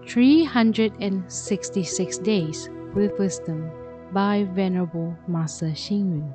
366 Days with Wisdom by Venerable Master Xing Yun.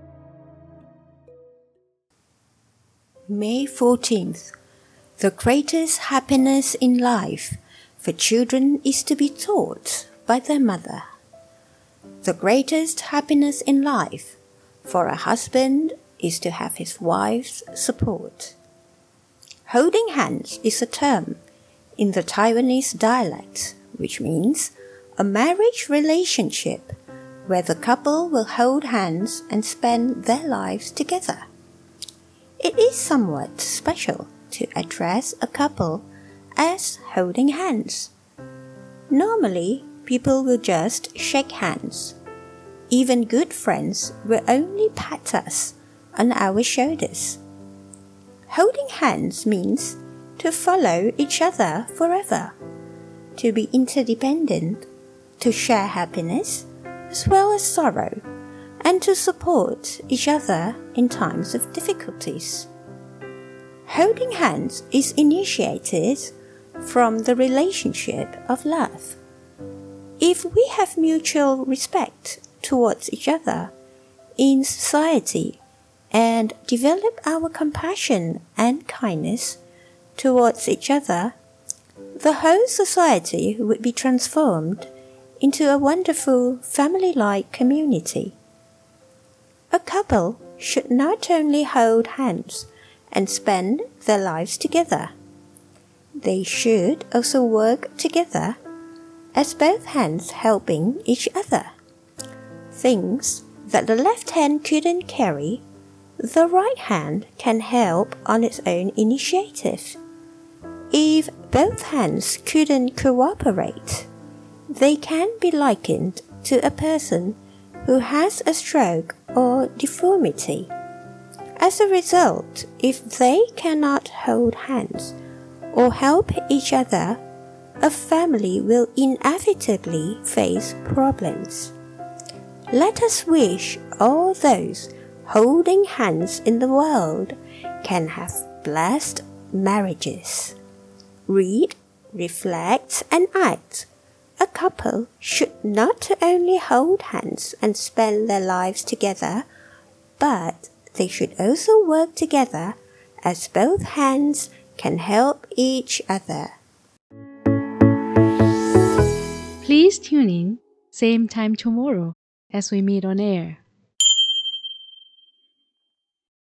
May 14th. The greatest happiness in life for children is to be taught by their mother. The greatest happiness in life for a husband is to have his wife's support. Holding hands is a term in the Taiwanese dialect, which means a marriage relationship where the couple will hold hands and spend their lives together. It is somewhat special to address a couple as holding hands. Normally, people will just shake hands. Even good friends will only pat us on our shoulders. Holding hands means to follow each other forever, to be interdependent, to share happiness as well as sorrow, and to support each other in times of difficulties. Holding hands is initiated from the relationship of love. If we have mutual respect towards each other in society and develop our compassion and kindness towards each other, the whole society would be transformed into a wonderful family-like community. A couple should not only hold hands and spend their lives together. They should also work together as both hands helping each other. Things that the left hand couldn't carry, the right hand can help on its own initiative. If both hands couldn't cooperate, they can be likened to a person who has a stroke or deformity. As a result, if they cannot hold hands or help each other, a family will inevitably face problems. Let us wish all those holding hands in the world can have blessed marriages. Read, reflect, and act. A couple should not only hold hands and spend their lives together, but they should also work together as both hands can help each other. Please tune in, same time tomorrow as we meet on air.